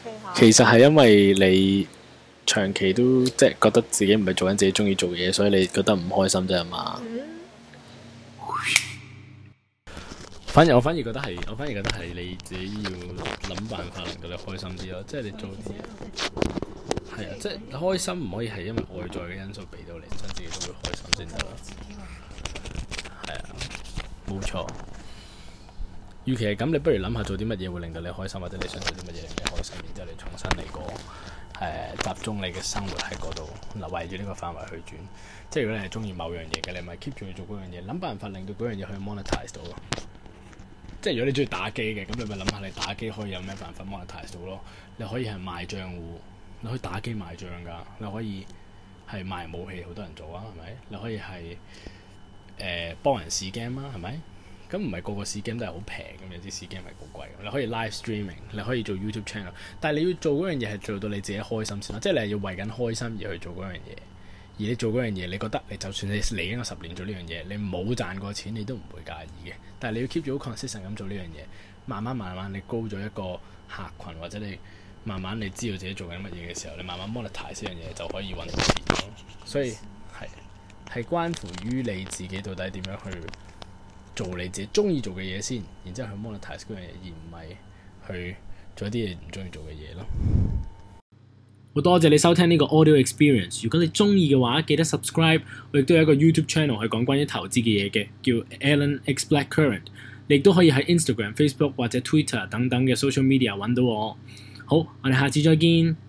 其實係因為你長期都即係覺得自己唔係做緊自己中意做嘅嘢，所以你覺得唔開心啫嘛。我反而覺得係你自己要諗辦法令到你開心啲咯，即係你做啲嘢係啊，即係開心唔可以係因為外在嘅因素俾到你，真自己都會開心先得咯。係啊，冇錯。與其係咁，你不如諗下做啲乜嘢會令到你開心，或者你想做啲乜嘢令你開心，然之後你重新嚟過集中你嘅生活喺嗰度，圍住呢個範圍去轉。即係如果你係中意某樣嘢嘅，你咪 keep 住去做嗰樣嘢，諗辦法令到嗰樣嘢可以 monetize 到咯。即係如果你中意打機嘅，咁你咪諗下你打機可以有咩辦法 monetize 到咯。你可以係賣賬戶，你可以打機賣賬㗎，你可以係賣武器，好多人做啊，係咪？你可以係幫人試 game 啊，係咪？咁唔係個個試 game 都係好平咁，有啲試 game 係好貴。你可以 live streaming，你可以做 YouTube channel，但係你要做嗰樣嘢係做到你自己開心先啦。即係你係要為緊開心而去做嗰樣嘢，而你做嗰樣嘢，你覺得你就算你嚟緊個10年做呢樣嘢，你冇賺過錢，你都唔會介意嘅。但係你要 keep 住好 consistent 咁做呢樣嘢，慢慢你高咗一個客群，或者你慢慢你知道自己做緊乜嘢嘅時候，你慢慢 monetize 呢樣嘢就可以揾到錢咯。所以係關乎於你自己到底點樣去做你自己中意做嘅嘢先，然之後去 monetize 嗰樣嘢，而唔係去做一啲你唔中意做嘅嘢咯。好多謝你收聽呢個 audio experience。如果你中意嘅話，記得 subscribe。我亦都有一個 YouTube channel 係講關於投資嘅嘢嘅，叫 Alan X Blackcurrant。你亦都可以喺 Instagram、Facebook 或者 Twitter 等等嘅 social media 揾到我。好，我哋下次再見。